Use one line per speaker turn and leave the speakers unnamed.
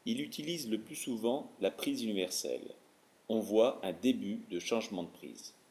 Il utilise le plus souvent la prise universelle. On voit un début de changement de prise.